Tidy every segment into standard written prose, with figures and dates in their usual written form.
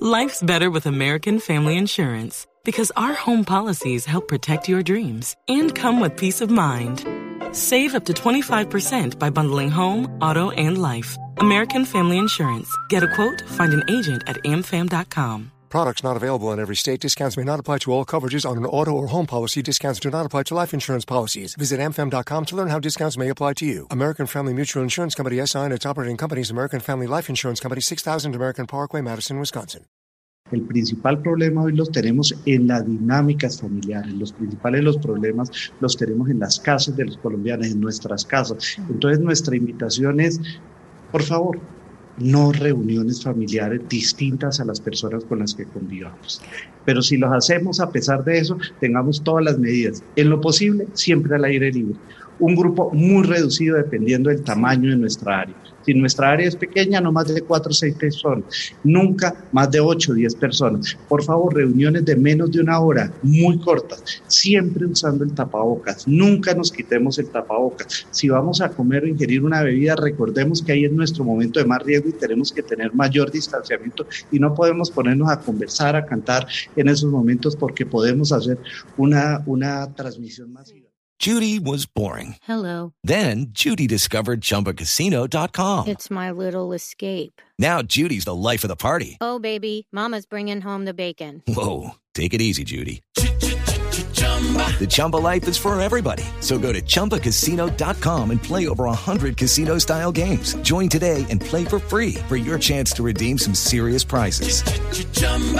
Life's better with American Family Insurance because our home policies help protect your dreams and come with peace of mind. Save up to 25% by bundling home, auto, and life. American Family Insurance. Get a quote, find an agent at amfam.com. Products not available in every state. Discounts may not apply to all coverages on an auto or home policy. Discounts do not apply to life insurance policies. Visit amfam.com to learn how discounts may apply to you. American Family Mutual Insurance Company SI and its operating companies, American Family Life Insurance Company, 6000 American Parkway, Madison, Wisconsin. El principal problema hoy los tenemos en las dinámicas familiares. Los principales los problemas los tenemos en las casas de los colombianos, en nuestras casas. Entonces nuestra invitación es, por favor, no reuniones familiares distintas a las personas con las que convivamos. Pero si los hacemos, a pesar de eso, tengamos todas las medidas. En lo posible, siempre al aire libre. Un grupo muy reducido dependiendo del tamaño de nuestra área. Si nuestra área es pequeña, no más de 4 o 6 personas. Nunca más de 8 o 10 personas. Por favor, reuniones de menos de una hora, muy cortas. Siempre usando el tapabocas. Nunca nos quitemos el tapabocas. Si vamos a comer o ingerir una bebida, recordemos que ahí es nuestro momento de más riesgo y tenemos que tener mayor distanciamiento y no podemos ponernos a conversar, a cantar en esos momentos porque podemos hacer una transmisión masiva. Judy was boring. Hello. Then Judy discovered ChumbaCasino.com. It's my little escape. Now Judy's the life of the party. Oh, baby, mama's bringing home the bacon. Whoa, take it easy, Judy. The Chumba life is for everybody. So go to ChumbaCasino.com and play over 100 casino-style games. Join today and play for free for your chance to redeem some serious prizes.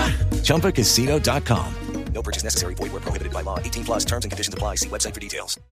ChumbaCasino.com. No purchase necessary. Void where prohibited by law. 18 plus terms and conditions apply. See website for details.